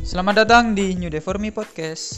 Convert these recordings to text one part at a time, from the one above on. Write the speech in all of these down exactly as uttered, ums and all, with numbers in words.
Selamat datang di New Day For Me Podcast.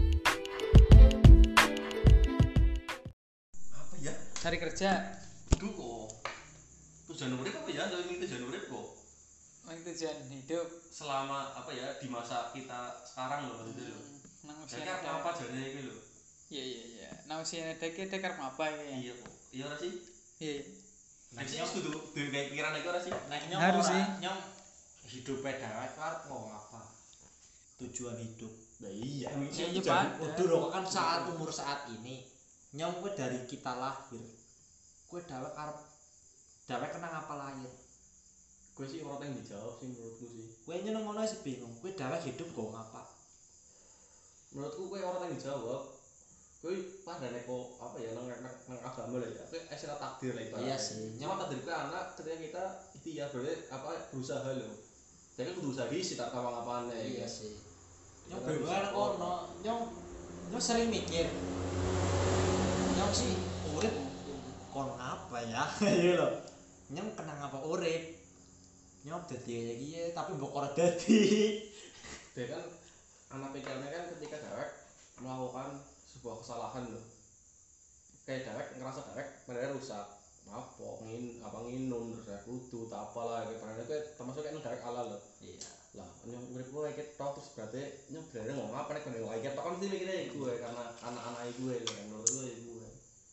Apa ya? Cari kerja. Duh kok. Tujuan urip apa ya? Dari tujuan urip kok. Ini tujuan hidup Selama apa ya di masa kita sekarang loh gitu loh. nang usia Jadi apa apa jadinya iki lho. Iya iya iya. Nang usia dek dek arep apa iki? Iya kok. Iya ora sih? Iya. Nek sih kudu duwe kayak pikiran iki ora sih? Nek nyong Harus ora, sih. nyong hidupe dhewek ku arep ngomong apa? Tujuan hidup. Nah iya. Iya, iya, Jadi pada. kudu rokok kan saat umur saat ini. Nyong kuwi dari kita lahir. Kuwi dhewek arep dhewek kenang apa lahir. Gue sih orang yang dijawab sih menurutku sih. Kuwi nyeneng ngono sih bingung. Kuwi dhewek hidup kok ngapa? Menurutku gue orang yang dijawab. Gue pada neko apa ya nang nang, nang agama lah ya. Gue istilah takdir lah ibaratnya. Iya sih. Cuma takdir gue anak ketika kita ikhtiar berarti apa berusaha loh. Jadi kudu usaha di sitar kapan-kapan Iya ya. sih. Nyong bener kono, nyong nyong sering mikir. Nyong sih urip kon apa ya? Iya lho. Nyong kenang apa urip? Nyong dadi kayak gini tapi mbok ora dadi. Dia kan anak pikirannya kan ketika dewek melakukan sebuah kesalahan loh. Kayak dewek ngerasa dewek padahal rusak. Apa ngin apa nginum terus ya kudu tak apalah kayak padahal kayak termasuk kayak dewek ala loh. Iya. Lah nyong urip gue kayak tok terus berarti nyong berarti ngomong apa nek kene lagi tok kan mesti mikirnya gue karena anak-anak gue loh yang menurut gue gue.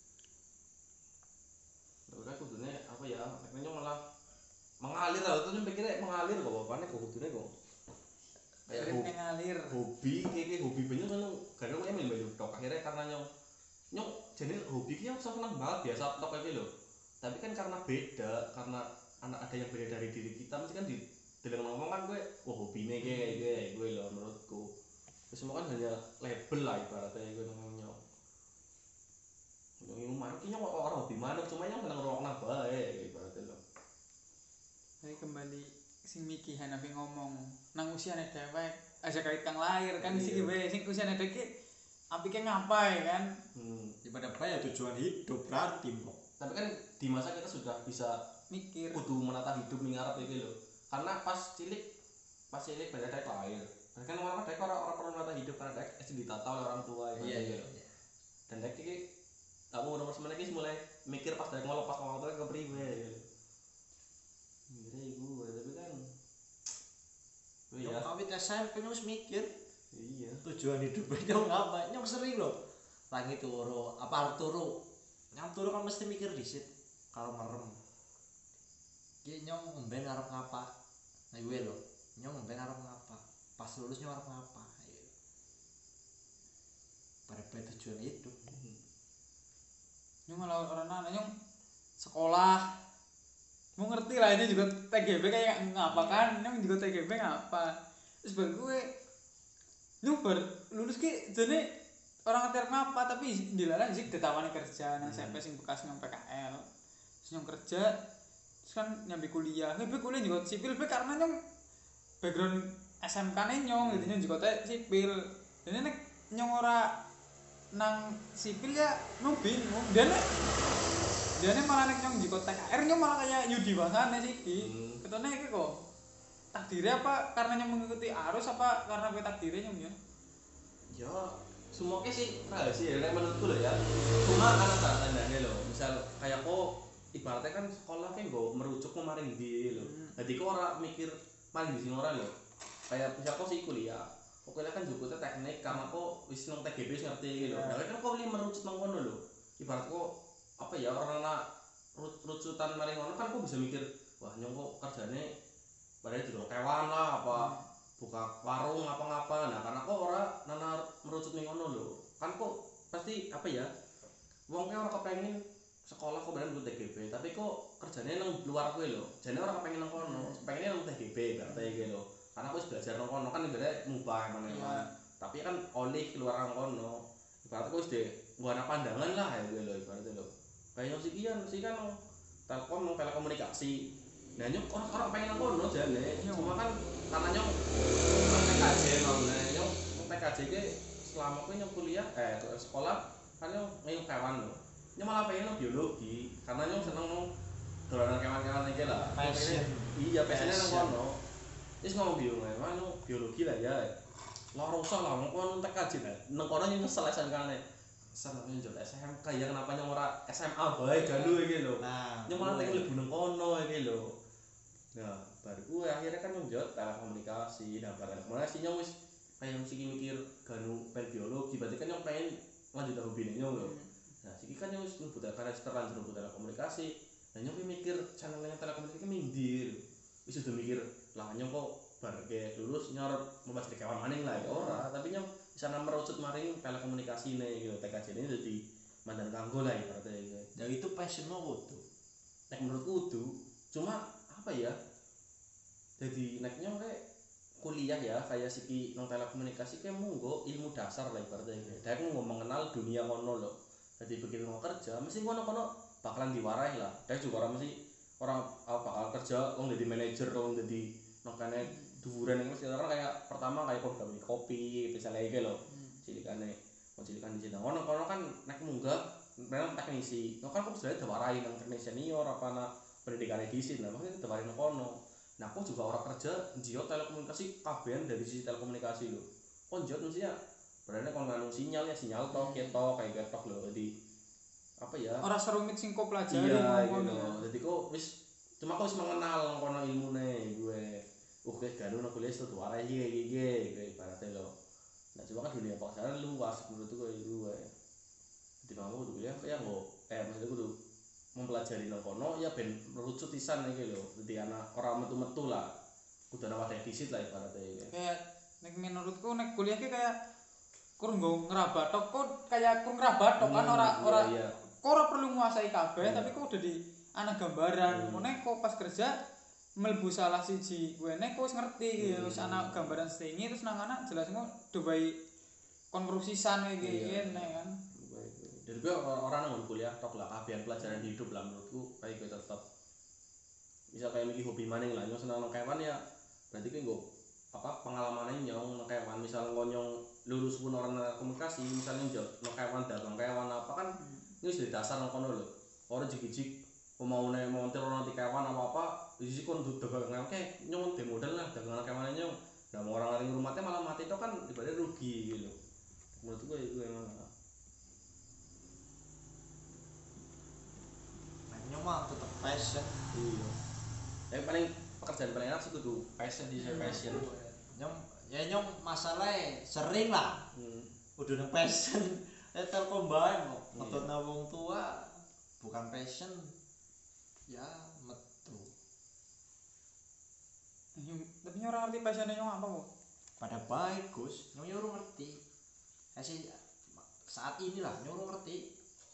Udah kudunya apa ya akhirnya nyong malah mengalir lah tuh nyong pikirnya mengalir kok bapaknya kok kudunya kok kayak Urip hobi, ngalir. hobi kayak kayak hobi banyak kan kadang gue emang baju tok akhirnya karena nyong nyong jadi hobi kayaknya aku seneng banget biasa tok kayak gitu loh tapi kan karena beda karena anak ada yang beda dari diri kita mesti kan di dalam ngomong kan gue wah hobinya kayak gue gue loh menurutku itu semua kan hanya label lah ibaratnya gue ngomong nyong nyong ini mana kayaknya orang hobi mana cuma nyong seneng ngerokok nah baik ibaratnya loh. Jadi kembali sing Miki Hanafi ngomong nang usiane dewek aja kait kang lahir kan sih Iya. gue sing usiane dek apike ngapain kan? Hmm. Ibadah apa ya tujuan hidup berarti mbok. Tapi kan di masa kita sudah bisa Mikir. kudu menata hidup mengarap itu loh karena pas cilik pas cilik pada dek lahir dan kan orang dek orang orang perlu menata hidup karena dek es ditata oleh orang tua ya Iya iya. gitu. Dan dek ini kamu udah umur sembilan lagi mulai mikir pas dek ngelepas orang tua ke priwe gitu. Mikirnya ibu tapi kan oh Nyong iya kawit S M P nyong wis mikir iya tujuan hidup nyong apa? Nyong sering loh. Tangi turu, apa arep turu? Nyong turu kan mesti mikir dhisik kalau merem. Ki nyong mben arep ngapa? Nah gue lho, nyong mben arep ngapa? Pas lulus nyong arep ngapa? Ayo. Pada pada tujuan hidup. Nyong malah orang anak nyong sekolah. Mau ngerti lah ini juga T G B kayak ngapa kan? Nyong juga T G B ngapa? Terus bagi gue nyong ber lulus ki jadi orang ngerti ngapa tapi dilarang sih ditawani kerja nang S M P sing bekas nang P K L. Terus nyong kerja terus kan nyambi kuliah. Nyambi kuliah juga sipil be karena nyong background S M K ne nyong gitu nyong juga teh sipil. Jadi nek nyong ora nang sipil ya nyong bingung. Dia nek dia nek malah nek nyong juga T K R nyong malah kayak Yudi Wasane sih ki. Hmm. Ketone iki kok takdirnya apa karena nyong mengikuti arus apa karena gue takdirnya nyong ya? ya semua sih rahasia ya menurutku loh ya cuma kan ada tandanya loh misal kayak kok ibaratnya kan sekolah kan gue merujuk kemarin di loh Hmm. jadi kok orang mikir paling di sini orang loh kayak misal kok sih kuliah kok kuliah kan juga teknik karena kok wis nang T G B ngerti gitu Ya. nah kan kok beli merucut nang kono loh ibarat kok apa ya orang anak rucutan maring kono kan kok bisa mikir wah nyong kok kerjanya padahal juga kewan lah apa buka warung apa-ngapa nah karena kok ora nana merucut ning ngono lho kan kok pasti apa ya wong ki ora kepengin sekolah kok beneran T G B tapi kok kerjanya nang luar kuwi lho jane ora kepengin nang kono pengennya nang T G B berarti iki lho karena aku wis belajar nang kono kan ibaratnya mubah emang Iya. tapi kan oleh keluar nang kono ibaratnya kok wis de nggo ana pandangan lah ya kuwi lho ibaratnya lho kayak sih kian sih kan Telkom nang telekomunikasi nah nyok orang-orang pengen nang kono jane cuma kan karena nyok T K J nolnya nyok T K J ke selama aku nyok kuliah eh sekolah kan nyok ngayung kewan loh nyok malah pengen nang biologi karena nyok seneng nang dolanan kewan-kewan iki lah Passion. iya passionnya nang Passion. kono Wis ngomong bingung ae, manu biologi lah ya. Loro usah lah wong kono tek kaji lah. Nang kono nyesel S M K-ne. Sen aku njol S M K ya kenapa nyong ora S M A bae ganu iki lho. Nah, Nyong malah tek mlebu nang kono iki lho. Nah, baru gue akhirnya kan nyong jot telekomunikasi. Nah, bareng telekomunikasi nyong wis kayak mesti mikir ganu pen biologi, berarti kan nyong pengen lanjut hobi nyong lho. Nah, siki kan nyong wis mlebu karena terlanjur mlebu telekomunikasi. Nah, nyong mikir channel yang telekomunikasi mindir. Wis udah mikir, lah nyong kok bar ke lulus nyorot mempelajari kawan maning lah ya ora, tapi nyong bisa merucut maring telekomunikasi nih gitu. T K J ini jadi mandan kanggo lah ibaratnya gitu. ya itu passionmu kudu. Nek menurutku kudu, cuma apa ya? Jadi neknya kayak kuliah ya kayak siki nang telekomunikasi kayak munggo ilmu dasar lah ibaratnya gitu. Dia kan mau mengenal dunia kono loh. Jadi begitu mau kerja, mesti kono-kono bakalan diwarai lah. Dia juga orang mesti orang apa bakal kerja, orang jadi manajer, orang jadi makanya duren yang mesti orang kayak pertama kayak kok gawe kopi, misalnya iki lho. Cilikane, mau cilikan di sini. Ono kono kan nek munggah memang teknisi. Nah kan aku sudah diwarai nang teknisi senior apa na pendidikan di sini. Nah maksudnya diwarai nang kono. Nah aku juga orang kerja jio telekomunikasi kabehan dari sisi telekomunikasi lho. Kok jio mestinya berarti kon nganu sinyal ya sinyal tok ketok kayak ketok lho. Jadi apa ya? Ora serumit sing kok pelajari Iya, ngono. gitu. Jadi kok wis cuma kok wis mengenal kono ilmune gue. Oke, ganu nang kuliah itu warai iki iki iki ibaratnya lho. Nah, cuma kan dunia pasaran luas menurutku kayak gue. Jadi mau kuliah kayak nggo eh maksudnya kudu mempelajari nang kono ya ben merucut pisan iki lho. Dadi anak ora metu-metu lah. Kudu ana wadah disit lah ibaratnya iki. Kayak nek menurutku nek kuliah ki kayak kur nggo ngerabatok kok kayak kur ngerabatok kan ora ora iya. kok ora perlu nguasai kabeh Iya. tapi kok udah di ana gambaran. Hmm. Ngene kok pas kerja mlebu salah siji kuene kok wis ngerti iki Hmm. wis ana gambaran setingi terus nang anak jelas kok dubai konversisan iki Iya. ngene kan. Jadi gue orang nang kuliah tok lah kabehan pelajaran hidup lah menurutku kayak gue tetap bisa kayak mikir hobi maning lah nyong seneng nang kewan ya berarti kan gue apa pengalamannya nyong nang kewan misal ngonyong lulus pun orang komunikasi misalnya njot nang kewan dagang kewan apa kan ini sudah dasar nang kono lho orang jik-jik pemaune montir orang di kewan apa apa di sisi kon dagang kewan kayak nyong de modal lah dagang kewan nyong nah mau orang lain rumahnya malah mati itu kan ibaratnya rugi gitu menurut gue itu emang Hanya mah tetap passion. iya yang paling pekerjaan paling enak sih kudu passion di saya passion Nyong ya nyong masalahnya sering lah. hmm. Udah nang passion. Eh telkom bae kok. Iya. Ngetutna wong tua bukan passion. Ya metu. Nyong- Tapi nyong ora ngerti pasane nyong apa kok. Pada baik Gus, nyong nyuruh ngerti. Kasih saat inilah nyuruh ngerti.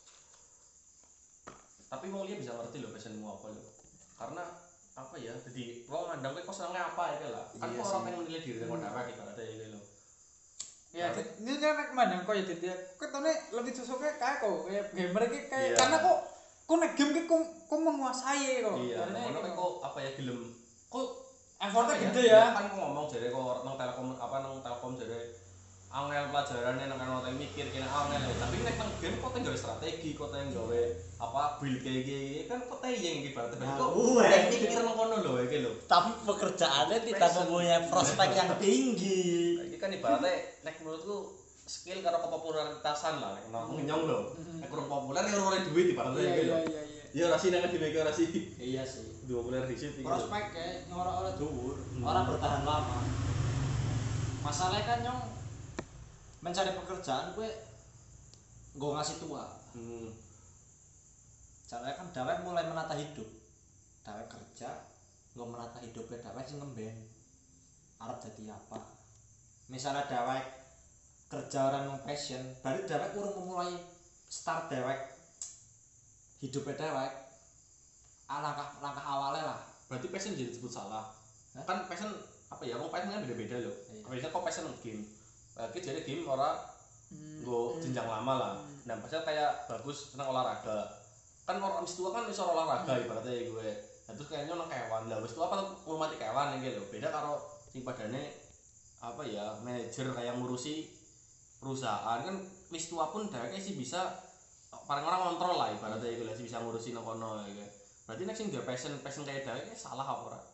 Tapi mau dia bisa ngerti loh passionmu apa loh karena apa ya jadi lo ngandang kok senengnya apa ya lah kan Iya kok sih. orang pengen nilai diri dengan apa gitu ada ya lo Ya, Tapi- ini kan nek mandang kok ya jadi ketone lebih cocoknya kayak kok kayak gamer iki kayak Iya. karena kok kok nek game ki kok kok menguasai kok. iya Karena nah, iki kok apa ya gelem kok effortnya apa gede ya. kan ngomong jadi kok nang telkom apa nang telkom jadi angel pelajarannya nang kan orang mikir kena angel ya. Tapi nek nang game kok tinggal strategi kok tinggal gawe apa build kayak gini kan kok tayang ibaratnya Nah, kok gue. nek mikir nang kono lho iki lho Tapi pekerjaannya tidak Passion. mempunyai prospek yang tinggi. iki kan ibaratnya nek menurutku skill karo kepopularitasan lah nek nang nyong lho nek kurang populer ya ora duit ibaratnya Iya iki lho iya iya iya. ya ora sih nang dimeke ora sih Iya sih. dua populer dhisik iki lho. Prospeknya orang-orang dhuwur, Hmm. orang bertahan lama. Masalahnya kan nyong mencari pekerjaan gue gue ngasih tua. hmm. Caranya kan dawek mulai menata hidup. Dawek kerja, gue menata hidupnya dawek sing ngemben. Arep jadi apa? Misalnya dawek kerja orang yang passion, berarti dawek urung memulai start dawek hidupnya dawek. Ah, langkah langkah awalnya lah. Berarti passion jadi disebut salah. Hah? Kan passion apa ya? Wong passion kan beda-beda loh. Iya. Biasanya kok passion game. Lagi jadi game ora Hmm, nggo hmm. jenjang lama lah. Hmm. Nah, passion kayak bagus seneng olahraga. Kan orang wis tua kan iso olahraga ibaratnya gue. Nah, terus kayaknya nang kewan. Lah wis tua apa ngurmati kewan iki lho. Beda karo sing padane apa ya? Manajer kayak ngurusi perusahaan kan wis tua pun dheweke sih bisa paling orang kontrol lah ibaratnya iku lah sih bisa ngurusi nang kono iki. Berarti nek sing duwe passion passion kayak dheweke salah apa ora?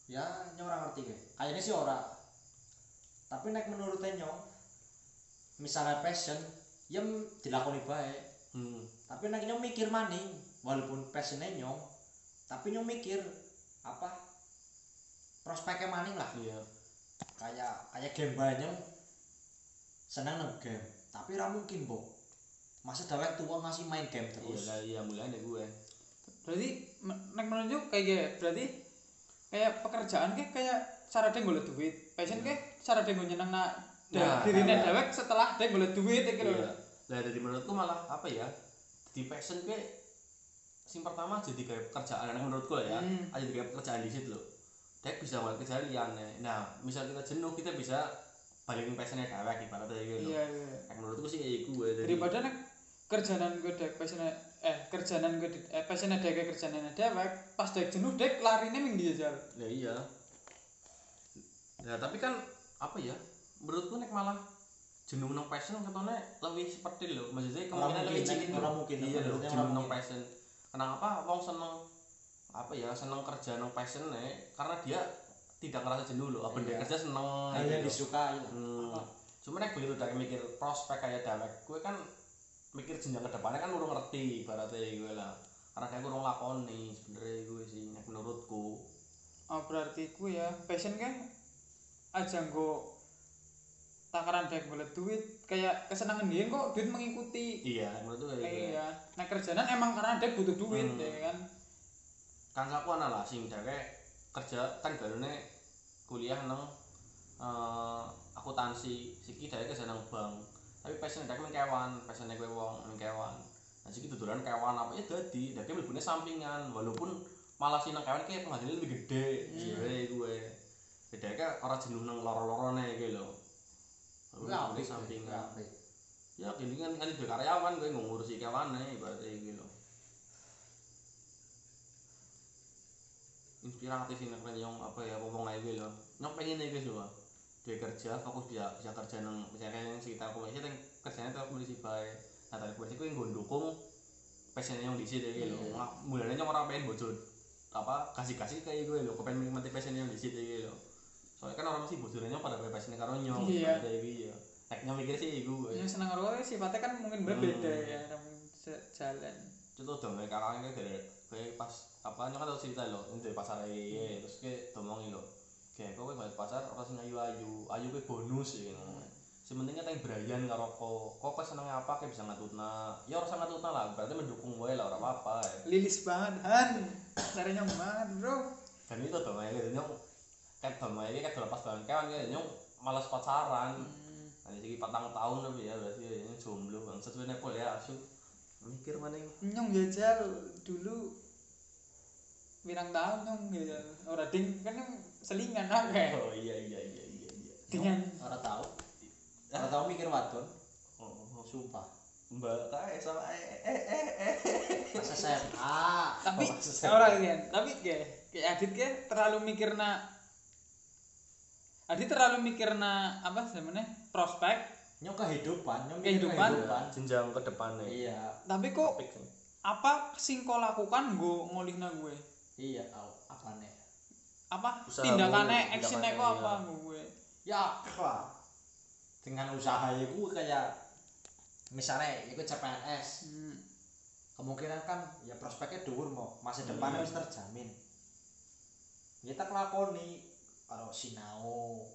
Ya nyong ora ngerti kae. Kayaknya sih ora. Tapi nek menurutnya nyong misalnya passion ya m- dilakoni baik. hmm. Tapi nek nyong mikir maning walaupun passionnya nyong tapi nyong mikir apa prospeknya maning lah. Iya. Kayak kayak game bae nyong seneng nang game. Tapi ra mungkin, Bok. Masa dewek tua masih main game Iya terus. lah, iya mulanya gue. Berarti me- nek menunjuk kayak gitu. Berarti kayak pekerjaan kayak kayak cara dia golek duit. Passion kayak cara dia nyeneng nak Nah, dirinya iya. dewek setelah dia golek duit iki lho. Iya. Lah dari menurutku malah apa ya? Di passion gue sing pertama jadi kayak pekerjaan nah, menurutku ya. Hmm. Aja kayak pekerjaan di situ loh. Dek bisa mulai kerjaan liane. Nah, misal kita jenuh kita bisa balikin passionnya dewek ibaratnya gitu. Iya, iya. Nah, menurutku sih kayak gue dari Daripada nek kerjaan gue dek passionnya eh kerjaan gue di- eh passionnya dek kerjaan dewek pas dek jenuh dek larine ming dia jal. ya iya. Ya tapi kan apa ya? Menurutku nek malah jenuh nang passion katanya lebih seperti loh. Maksudnya Ora kemungkinan mungkin, lebih cilik ora loh. mungkin, Iya loh, menurutnya ora jenuh nang mungkin. passion. Kenapa wong seneng apa ya seneng kerja nang passion karena dia tidak ngerasa jenuh loh. Apa dia Iya. kerja seneng Hal gitu yang loh. disukai lah. Hmm. Cuma nek begitu dari mikir prospek kayak dewek, gue kan mikir jenjang ke depannya kan urung ngerti ibaratnya gue lah. Karena kayak gue urung lakoni sebenarnya gue sih nek menurutku. Oh berarti gue ya passion kan aja nggo takaran dek golek duit kayak kesenangan dia kok duit mengikuti. Iya, menurutku kayak gitu. Iya. Nah kerjaan emang karena dek butuh duit Hmm. ya kan. Kan aku ana lah sing dhewek kerja kan garune kuliah nang eh, akuntansi siki dhewek kerja nang bank tapi passion dhewek mung kewan passion gue wong mung kewan nah siki dudulan kewan apa ya dadi dhewek mlebune sampingan walaupun malah sih nang kewan ki penghasilannya lebih gede sebenarnya gue dhewek kan ora jenuh nang loro-lorone iki lho Enggak, mlebune sampingan apik. ya gini kan kan di karyawan gue ngurusi kewane ibaratnya iki lho inspiratif ini keren yang apa ya ngomong aja gue loh nyok pengen nih guys loh dia kerja fokus bisa bisa kerja nang misalnya yang sekitar komisi yang kerjanya tuh komisi baik nah tadi komisi gue yang dukung passionnya yang di sini gitu loh nggak mulanya nyok orang pengen bocor apa kasih kasih kayak gue loh kepengen menikmati passionnya yang di sini gitu loh soalnya kan orang masih bocornya pada kayak passionnya karo nyok Iya. kayak gitu ya teknya mikir sih gue Yang seneng karo sifatnya kan mungkin berbeda Hmm. ya orang jalan. contoh dong kayak kakaknya kayak kayak pas apa nyok kan tau cerita loh ini dari pasar aja terus kayak domongi loh kayak kowe balik pasar apa sing ayu ayu ayu kayak bonus ya gitu sementingnya teng Brian karo kok kok kok senengnya apa kayak bisa ngatutna ya harus ngatutna lah berarti mendukung gue lah orang apa apa ya Lilis banget Han. Caranya banget bro. dan itu dong aja nyok kayak dong aja kayak lepas banget kawan kayak nyok malas pacaran Hmm. nanti segi patang tahun lebih ya berarti ya ini jomblo bang sesuai nepol ya asu mikir mana yang Nyong jajal dulu pirang tahun nyong jajal ora ding kan nyong selingan akeh oh iya iya iya iya iya dengan Ora tahu. Ora tahu mikir wadon, oh, oh. sumpah. Mbak kae sama eh eh eh eh Pas S M A. tapi Pas S M A. ora kan tapi kayak kayak Adit kayak terlalu mikirna Adit terlalu mikirna apa sebenarnya prospek Nyok kehidupan, nyok mikir Kehidupan. jenjang ke depannya Iya, tapi kok topik sih apa sing kau lakukan gue ngolihna gue iya, au, apa nih? apa Usahamu, tindakannya actionnya kok tindakannya, apa gue Ya, apa? Dengan usaha itu kayak misalnya ikut C P N S, hmm. kemungkinan kan ya prospeknya dhuwur mau masa depan Hmm. harus terjamin. Kita kelakoni kalau sinau.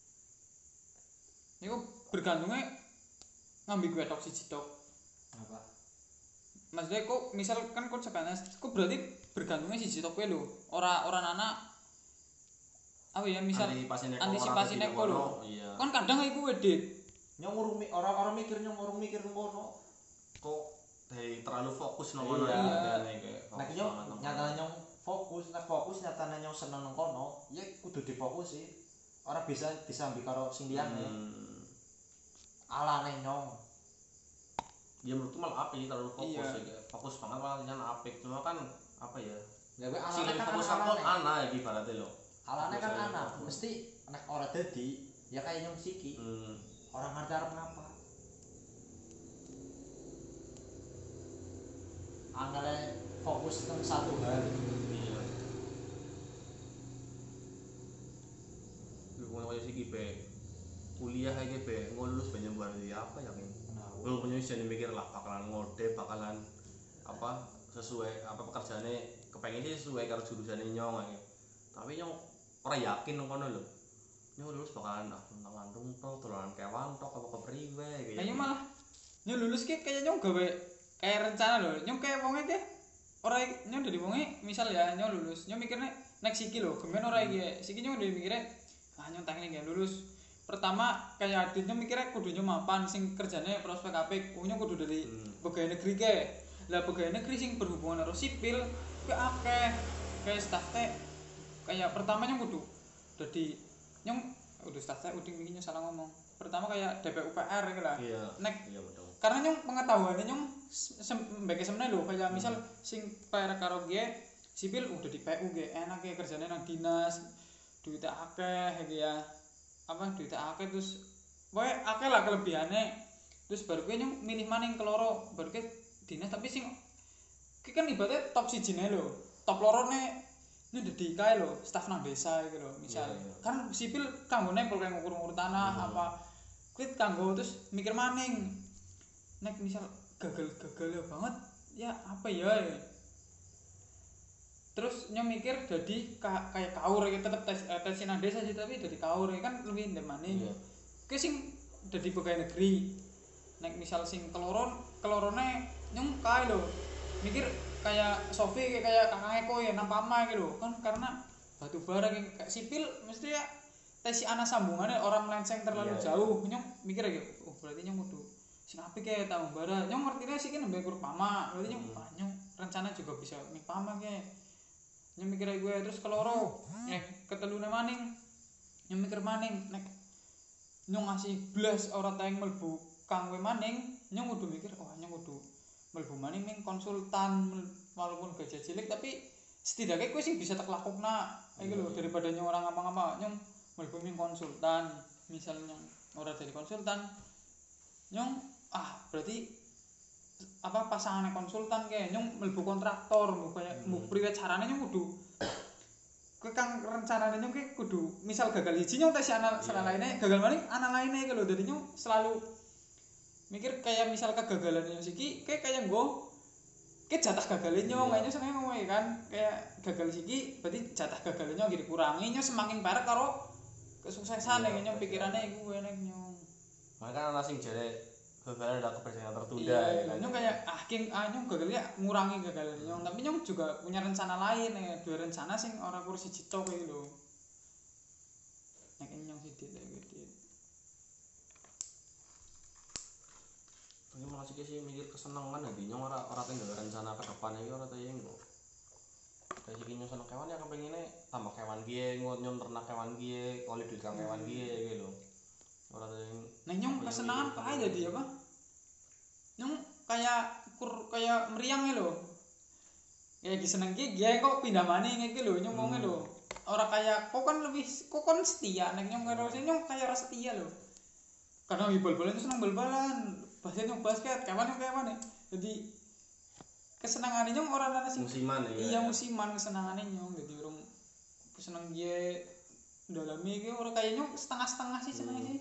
Ini kok bergantungnya ngambil gue tok siji tok Apa? maksudnya kok misal kan kok sekarang kok berarti bergantungnya siji tok gue lho ora ora anak apa ya misal antisipasi neko antisipasi orang neko tidak lho. ono, iya kan kadang iku wedit Nyong ngurung mi- orang-orang mikir nyong ngurung mikir ngono. kok dari terlalu fokus nang kono Iya. ya kayak Nah, nyong nyatane nyong fokus, nek fokus nyatane nyong seneng nang kono, ya kudu difokusi. Ora bisa disambi karo sing liyane. hmm. Alane nyong. ya menurutku malah apik terlalu fokus Iya. ya kayak fokus banget malah jangan apik cuma kan apa ya Ya gue sing alane lebih kan fokus alane. aku ana ya ibaratnya lho Alane kan Fokus aja, anak, fokus. mesti nek ora dadi ya kayak nyong siki. hmm. Orang ngerti arep ngapa. Angale fokus nang satu hal. iya iki be kuliah iki be ngulus banyak buat apa ya kan belum punya isi mikir lah bakalan ngode bakalan apa sesuai apa pekerjaannya kepengen sih sesuai karo jurusannya nyong aja tapi nyong orang yakin ngono lho nyong lulus bakalan ah tentang tok dolanan kewan tok apa kepriwe kayak nyong malah nyong lulus ki kayak nyong gawe kayak rencana lho nyong kayak wonge ki ora nyong dari wonge misal ya nyong lulus nyong mikirnya next iki lho gemen ora iki siki nyong dari mikirnya ah nyong tangi iki lulus pertama kayak adit nyong mikirnya kudu nyong mapan sing kerjane prospek apik nyong kudu dari hmm. pegawai negeri ke lah pegawai negeri sing berhubungan karo sipil ke akeh kayak staff teh kayak pertama nyong kudu dadi nyong udah staff teh uding iki nyong salah ngomong pertama kayak D P U P R gitu lah iya nek iya betul karena nyong pengetahuannya nyong sebagai sebenarnya lho kayak misal sing P R karo G sipil udah di P U G enak ya kerjanya nang dinas duitnya akeh ya apa duitnya akeh terus pokoke akeh lah kelebihannya terus baru gue nyong milih maning keloro baru ke dinas tapi sing ki kan ibaratnya top siji ne lho top loro ne ini udah dikai lho staf nang desa gitu lho misal yeah, yeah. Kan sipil kanggo nempel kayak ngukur-ngukur tanah hmm. apa kuwi kanggo terus mikir maning nek misal gagal-gagal banget ya apa ya, ya. Terus nyong mikir jadi ka, kayak kaur ya tetep tes eh, tes nang desa sih tapi jadi kaur ya kan lebih ndemane. Iya. Ki sing dadi pegawai negeri. Nek misal sing keloron kelorone nyong kae lho. Mikir kayak Sofi kayak Kakang Eko ya nang Pama gitu lho. Kan karena batu bara kayak sipil mesti ya tes ana sambungannya orang melenceng terlalu iya, jauh. Iya. Nyong mikir aja oh berarti nyong kudu sing apik kayak tahu bara. Nyong ngertine sih kan nembe kur Pama. Berarti nyong hmm. nyong rencana juga bisa ning Pama kayak nyong mikir gue terus keloro eh ketelune maning nyong mikir maning nek nyong ngasih blas ora tayang mlebu kang we maning nyong kudu mikir oh nyong kudu mlebu maning ning konsultan walaupun gaji cilik tapi setidaknya gue sing bisa tak lakukna iki lho daripada nyong ora ngapa-ngapa nyong mlebu ning konsultan misalnya ora jadi konsultan nyong ah berarti apa pasangannya konsultan kayak nyong mlebu kontraktor mbok kaya mbok priwe carane nyong kudu kowe kang rencanane nyong ki kudu misal gagal hiji nyong tes ana salah lainnya gagal maning ana lainnya iki lho dadi nyong selalu mikir kayak misal kegagalan nyong siki kayak kayak nggo ke jatah gagalnya nyong kayaknya seneng ngomong kan kayak gagal siki berarti jatah gagalnya nyong dikurangi nyong semakin parek karo kesuksesan yang nyong pikirannya iku enek nyong makanya ana sing jare gagal ada kepercayaan tertunda iya, ya kan. Nyong kayak ah king ah nyong gagalnya ngurangi gagalnya nyong tapi nyong juga punya rencana lain ya dua rencana sing ora kursi cicok iki lho nek nyong sithik lek gitu ini malah sih sih mikir kesenangan nanti nyong ora ora tinggal rencana ke depan iki ora tayang kok kayak sih nyong seneng kewan ya kepengine tambah kewan piye nyong ternak kewan piye kali duit kang kewan piye iki lho ora tayang nah nyong kesenangan apa aja dia apa nyong kayak kur kayak meriang lho kayak diseneng ki ya kok pindah maning iki lho nyong ngomongnya lho ora kayak kok kan lebih kok kan setia nek nyong karo nyong kayak ora setia lho karena bal-balan seneng bal-balan basket nyong basket kawan nyong kawan jadi kesenangannya nyong ora ana sing musiman ya iya musiman kesenangannya nyong jadi urung keseneng dia dalami iki ora kayak nyong setengah-setengah sih seneng sih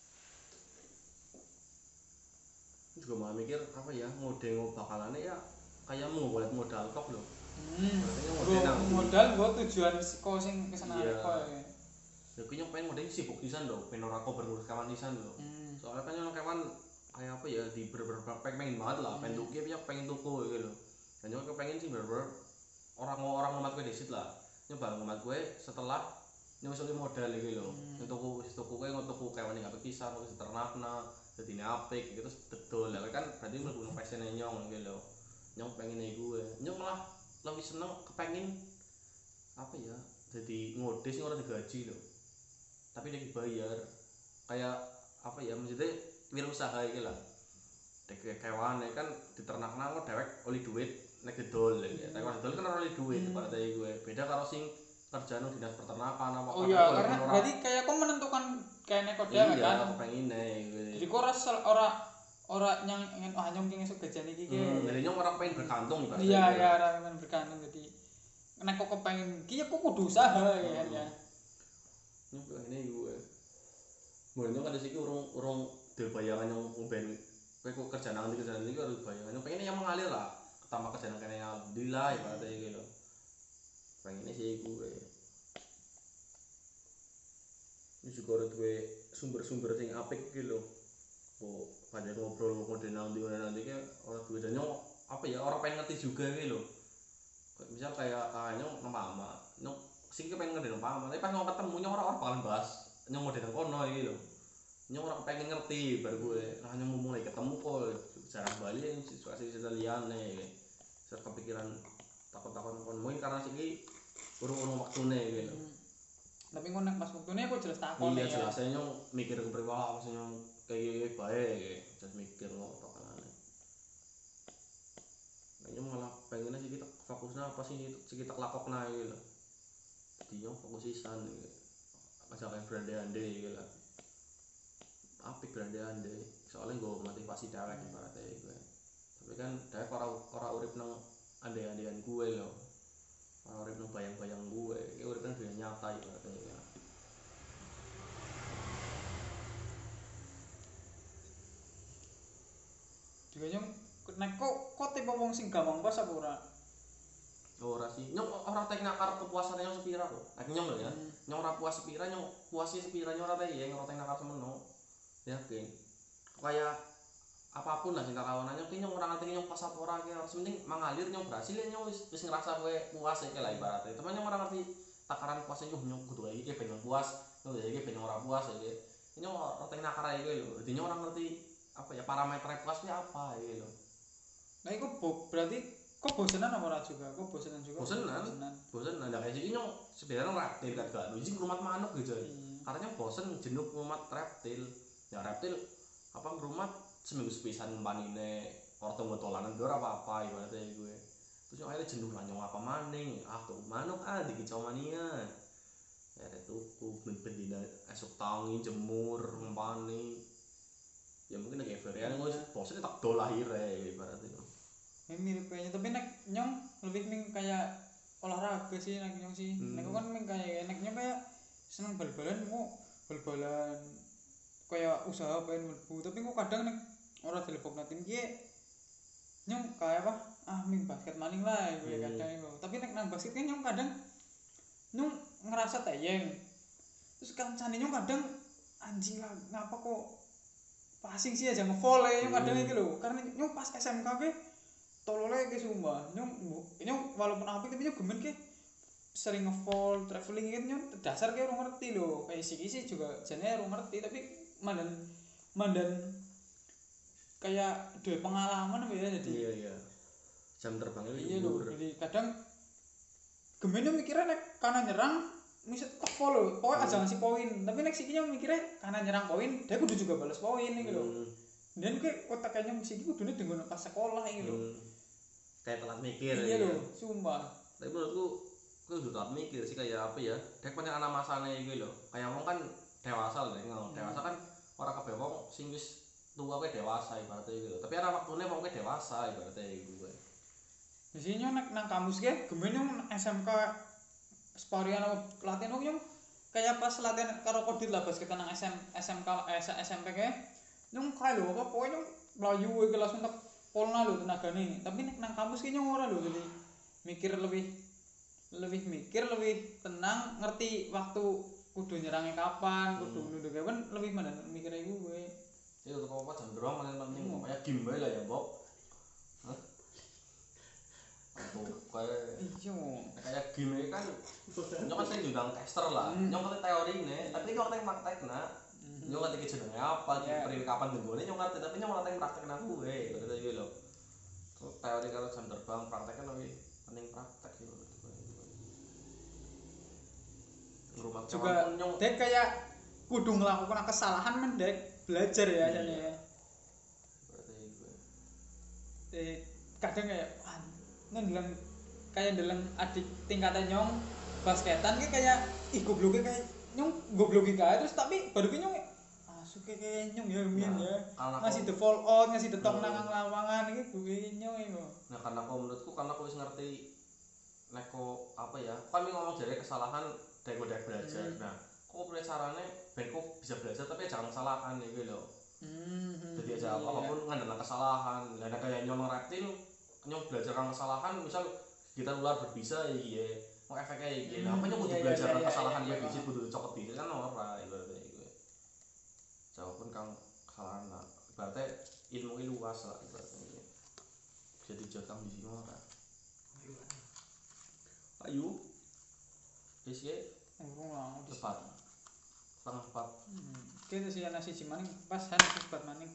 juga malah mikir apa ya mode bakalannya ya kayak mau buat modal kok loh hmm. modal modal buat tujuan kok sing kesenangan iya. kok ya ya kayaknya pengen modal sibuk pisan loh pengen ora kok berurus kawan pisan loh hmm. soalnya kan yang kawan kayak apa ya di beberapa pengen banget lah hmm. pengen tuku ya pengen tuku gitu loh dan juga pengen sih bener-bener orang orang ngomat gue disit lah nyoba ngomat gue setelah nyusul modal gitu loh hmm. tuku tuku gue tuku kayak mana nggak pisan terus ternakna jadi ini apik gitu betul lah kan berarti mlebu passion nyong gitu loh nyong pengen gue nyong malah lebih seneng kepengen apa ya jadi ngode sih orang digaji loh tapi dia dibayar kayak apa ya maksudnya wirausaha iki lah dek kewan kan diternakna kok dewek oleh duit nek gedol ya tapi gedol kan ora oleh duit pada hmm. gue beda karo sing kerjaan dinas peternakan apa oh iya karena berarti kayak kok menentukan kayak nek kok dhewe kan iya pengen gitu jadi kok ora ora ora nyang ingin ah nyong pengen esuk gajian iki ki hmm, jadi nyong ora pengen bergantung kan iya iya ora pengen bergantung jadi nek kok pengen ki ya kok kudu usaha ya ya nyong pengen gue Mbok kan iki urung urung duwe bayangan yang ben kowe kok kerja nang ndi kerja nang ndi harus bayangan. Pengen yang mengalir lah. Ketambah kerja nang kene alhamdulillah ibaratnya iki lho. Pengen sih iku kowe. Ini juga ada dua sumber-sumber sing apik iki lho. Kok banyak ngobrol ngode nang ndi nanti kayak orang dua dan nyong apa ya orang pengen ngerti juga gitu loh. Kayak misal kayak kayaknya nang mama, nyong sing pengen ngerti nang mama, tapi pas nyong ketemu nyong orang-orang bakalan bahas nyong ngode nang kono iki lho. Nyong orang pengen ngerti baru gue, nah nyong mau mulai ketemu kok jarang balik yang situasi cerita liane. Saya kepikiran takut-takut kon mungkin karena sih urung-urung waktune gitu. Tapi ngono pas waktune kok jelas takon ya. Iya jelas jelasnya nyong mikir ke priwala apa sih nyong kayak baik, jadi mikir kok tokanane. Nah nyong malah pengennya sih kita fokusnya apa sih sih kita lakokna gitu loh. Jadi nyong fokus sisan gitu. Aja kayak brand ande gitu lah. Apik brand ande, soalnya gue motivasi dewek ibaratnya gue. Tapi kan dewek orang orang urip nang ande-andean gue loh. Orang urip nang bayang-bayang gue, kayak urip nang dunia nyata ibaratnya ya. juga nyong nek kok kok tipe wong sing gampang puas apa ora? Ora sih, nyong ora tek nakar kepuasan nyong sepira kok. Nek nyong lho ya, hmm. nyong ora puas sepira, nyong puasi sepira nyong ora teh ya ora tek nakar semeno. Yakin. Kayak apapun lah sing kawanane nyong ki nyong ora ngerti nyong pas apa ora ki harus penting mengalir nyong berhasil nyong wis wis ngerasa kowe puas iki lah ibaratnya. Teman nyong ora ngerti takaran puasnya nyong nyong kudu iki pengen puas, nyong iki pengen ora puas iki. Nyong ora tek nakar iki lho. Dadi nyong ora ngerti apa ya parameter puasnya apa gitu loh. Nah itu berarti kok bosenan apa ora juga? Kok bosenan juga? Bosenan. Bosenan. Nah kayak sini nyong sebenarnya reptil kan gak nuji rumah manuk gitu. Hmm. Karena bosen jenuh rumah reptil. Ya reptil apa rumah seminggu sepisan panine orang tunggu tolanan gue apa apa ibaratnya gue. Terus nyong akhirnya jenuh lah nyong apa maning. Ah tuh manuk ah dikicau mania. Ya tuku ben-bendina esok tangi jemur ngempani. Ya mungkin kayak varian gue bosen tak dol akhirnya ibaratnya. Ini mirip kayaknya tapi nek nyong lebih ming kayak olahraga sih nek nyong sih. Hmm. Nek kan ming kayak nek nyong kayak seneng bal-balan kok bal-balan kayak usaha pengen mlebu tapi kok kadang nek ora dilebokna tim ki nyong kayak apa ah ming basket maning lah gue hmm. kadang itu. Tapi nek nang basket kan nyong kadang nyong ngerasa tayeng. Terus kancane nyong kadang anjing lah ngapa kok passing sih aja nge-volley nyong kadang iki lho. Karena nyong pas S M K ke tolole ke sumpah nyong nyong walaupun apik tapi nyong gemen ke sering nge-fall traveling kan nyong dasar ke ora ngerti lho kayak siki juga jane ora ngerti tapi mandan mandan kayak duwe pengalaman apa ya jadi iya iya jam terbangnya iya lho jadi kadang gemen mikirnya nek kanan nyerang misal tak follow pokoknya aja ngasih poin tapi nek siki nyong mikirnya kanan nyerang poin dia kudu juga balas poin iki lho hmm. Dan kayak otak kayaknya siki kudune dengan pas sekolah iki lho hmm. Kayak telat mikir iya lho sumpah tapi menurutku aku udah telat mikir sih kayak apa ya dek banyak anak masanya gitu loh kayak wong kan dewasa loh hmm. Dewasa kan orang kabeh wong sing wis tua kayak dewasa ibaratnya gitu tapi ada waktunya wong kayak dewasa ibaratnya gitu di sini nek nang kampus ge gemen nyong S M K sparian apa latihan nyong kayak pas latihan karo kodit lah pas kita nang S M S M K S M P ge nyong kae lho apa pokoke nyong mlayu iki langsung tak polna lho tenagane tapi nek nang kampus ki nyong ora lho jadi mikir lebih lebih mikir lebih tenang ngerti waktu kudu nyerangnya kapan kudu hmm. Nuduh kapan lebih mana mikirnya gue itu untuk apa jam berapa paling penting hmm. Kayak game bae lah ya Bob hah aku kayak iya kayak game kan nyong kan sering diundang tester lah hmm. Nyong ngerti teori ini tapi nyong ngerti praktekna hmm. Nyong ngerti jenenge apa yeah. Periode kapan denggone nyong ngerti tapi nyong ngerti praktekna gue berarti iki lho teori kalau jam terbang prakteknya lebih penting praktek gitu rumah juga dek kayak kudu ngelakukan kesalahan mendek belajar ya jane ya eh kadang kayak wah ndeleng kayak ndeleng adik tingkatan nyong basketan ki kayak ih gobloke kayak nyong gobloke kae terus tapi baru ki nyong asuke kayak nyong ya mien ya ngasih the fall out ngasih the tong nang lawangan iki gue nyong iku nah karena aku menurutku karena aku wis ngerti nek apa ya kan ngomong jare kesalahan dari udah belajar. Hmm. Nah, kok belajar carane ben kok bisa belajar tapi jangan salahkan gitu loh. Hmm. Jadi aja iya. apapun ngandalkan kesalahan. Lah nek kaya nyolong reptil, nyong belajar kan kesalahan misal kita ular berbisa ya iya. Mau efeknya iki. Nah, apa nyong kudu Iya, belajar iya, kan iya, kesalahan iya, kowe iya. biji kudu cokot diri kan ora ibaratnya iku. Jawabun kang kesalahan lah. Ibaratnya ilmu ini luas lah ibaratnya iki. Bisa dijangkau di sini ora. Ayo. Wis ya, Urung lah. tepat. Setengah empat. Hmm. Kita sih nasi maning pas nasi sebat maning.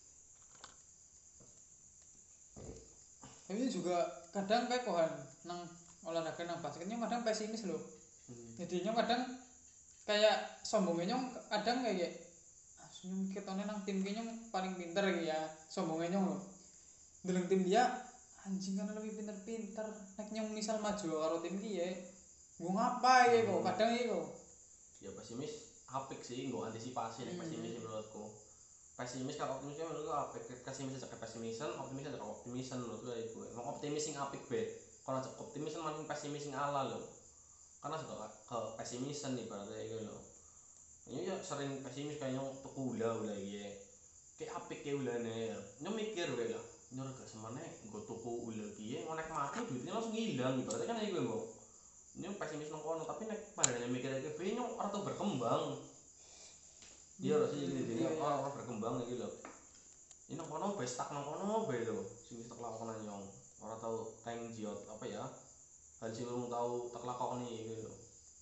Tapi juga kadang kayak kohan nang olahraga nang basketnya kadang pesimis loh. Hmm. Jadinya kadang kayak sombongnya nyong kadang kayak aslinya ketone nang tim nyong paling pinter ya sombongnya nyong loh. Deleng tim dia anjing kan lebih pinter-pinter. Nek nyong misal maju karo tim dia, gua ngapa ya kok kadang ya kok. Ya pesimis apik sih nggo antisipasi nek pesimis menurutku. Pesimis kalau optimis menurutku apik. Pesimis aja ke pesimisan, optimis aja ke optimisan menurutku iku. Emang optimis sing apik be. Kalau aja optimis maning pesimis sing ala lho. Karena suka ke pesimisan nih berarti iku lho. Ini ya sering pesimis kayak nyong tuku ula ula iya. Kayak apik kayak ulane. Nyong mikir wae lah. Nyong gak semane nggo tuku ula piye ngonek mati duitnya langsung hilang berarti kan iku mbok. Nyong pesimis nang kono tapi nek padane mikir iki piye nyong ora tau berkembang. Iya lho sih iki ora ora berkembang iki lho. Ini nang kono wis stuck nang kono bae lho. Sing wis tak lakoni nyong. Ora tau teng jiot apa ya? Hal sing urung tau tak lakoni iki lho.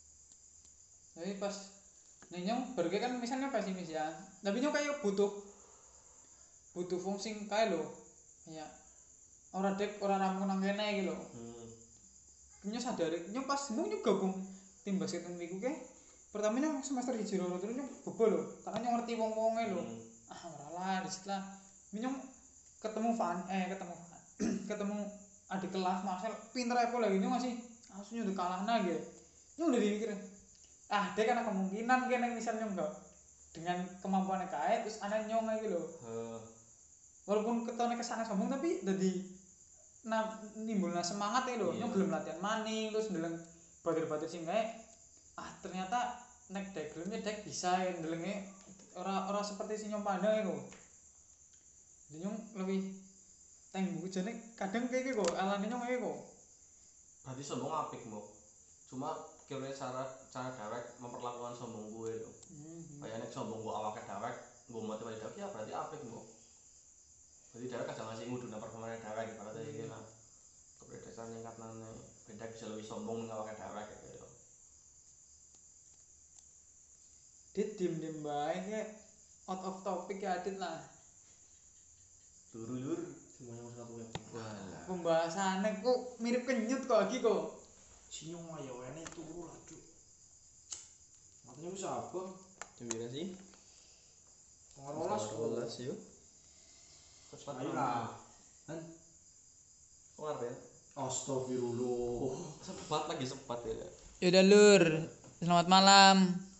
Jadi pas nih nyong berge kan misalnya pesimis ya. Tapi nyong kayak butuh butuh fungsi kayak lo. Ya. Ora dek ora rampung nang kene iki lho. Hmm. Nyong sadar nyong pas nyong nyong gabung tim basket niku ke. Pertama nyong semester hiji loro terus nyong bebo lho. Karena nyong ngerti wong-wonge lho. Hmm. Ah ora lah disitulah. Nyong ketemu Van eh ketemu ketemu adik kelas Marcel pinter apa lagi nyong masih aslinya udah kalah nah gitu. Nyong udah mikir ah dia kan kemungkinan kene misal nyong gak dengan kemampuannya kae terus ana nyong lagi lho. Heeh. Walaupun ketone kesana sombong tapi dadi nah nimbulna semangat ya lho. Iya. Nyong gelem latihan maning terus ndeleng batir-batir sing kae ah ternyata nek dek gelemnya dek bisa ya ndelenge ora ora seperti si nyong pandang iku. Jadi nyong lebih teng buku jane kadang kayak gitu kok alane nyong kayak kok. Berarti sombong apik, Mbok. Cuma kira cara cara dewek memperlakukan sombong gue lho. Hmm. Kayak nek sombong gue awake dewek, gue motivasi dewek ya berarti apik, Mbok. Berarti dewek aja ngasih nguduna performane dewek berarti iki lah. Kepedesan ningkatane beda bisa lebih sombong ning awake dewek gitu lho. Dit diem-diem bae kayak out of topic ya Dit lah. Lur-lur. Semuanya harus satu ya. Walah. Pembahasannya kok mirip kenyut kok lagi kok. Sinyong ayo ene turu lah, Cuk. Matanya wis abang. Gimana sih? Ngarolas kok. yuk. Cepat Ayo lah. Kan keluar ya. astagfirullah. Sempat lagi sempat ya. Yaudah lur, selamat malam.